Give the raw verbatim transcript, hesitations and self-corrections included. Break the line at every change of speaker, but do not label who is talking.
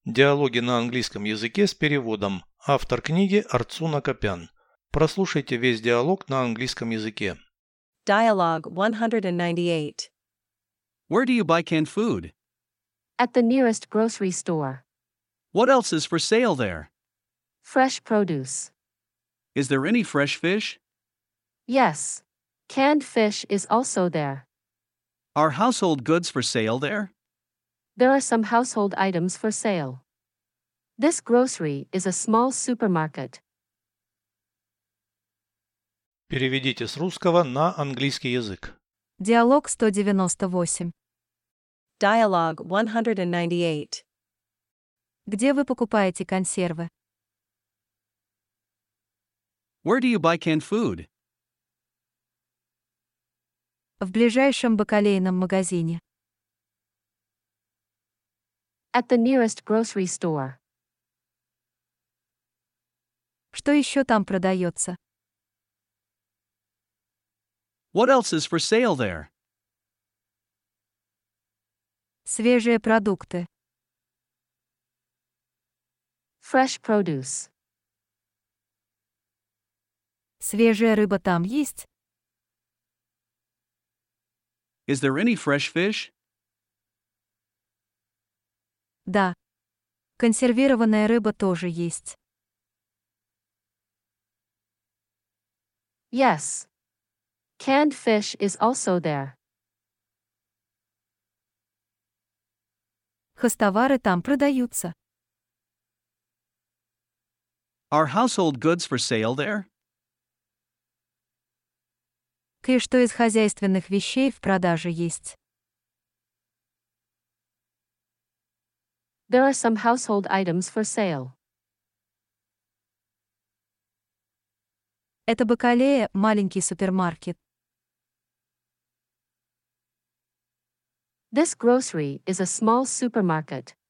Диалоги на английском языке с переводом. Автор книги Арцуна Копян. Прослушайте весь диалог на английском языке.
Dialogue one ninety-eight.
Where do you buy canned food?
At the nearest grocery store.
What else is for sale there?
Fresh produce.
Is there any fresh fish?
Yes. Canned fish is also there.
Are household goods for sale there?
There are some household items for sale. This grocery is a small supermarket.
Переведите с русского на английский язык.
Диалог сто девяносто восемь.
Dialogue one ninety-eight.
Где вы покупаете консервы?
Where do you buy canned food?
В ближайшем бакалейном магазине.
At the nearest grocery store.
Что еще там продается?
What else is for sale there?
Свежие продукты.
Fresh produce.
Свежая рыба там есть?
Is there any fresh fish?
Да. Консервированная рыба тоже есть.
Yes. Canned fish is also there.
Хозтовары там продаются.
Are household goods for sale there?
Кое-что из хозяйственных вещей в продаже есть.
There are some household items for sale.
Это Бакалея, маленький супермаркет.
This grocery is a small supermarket.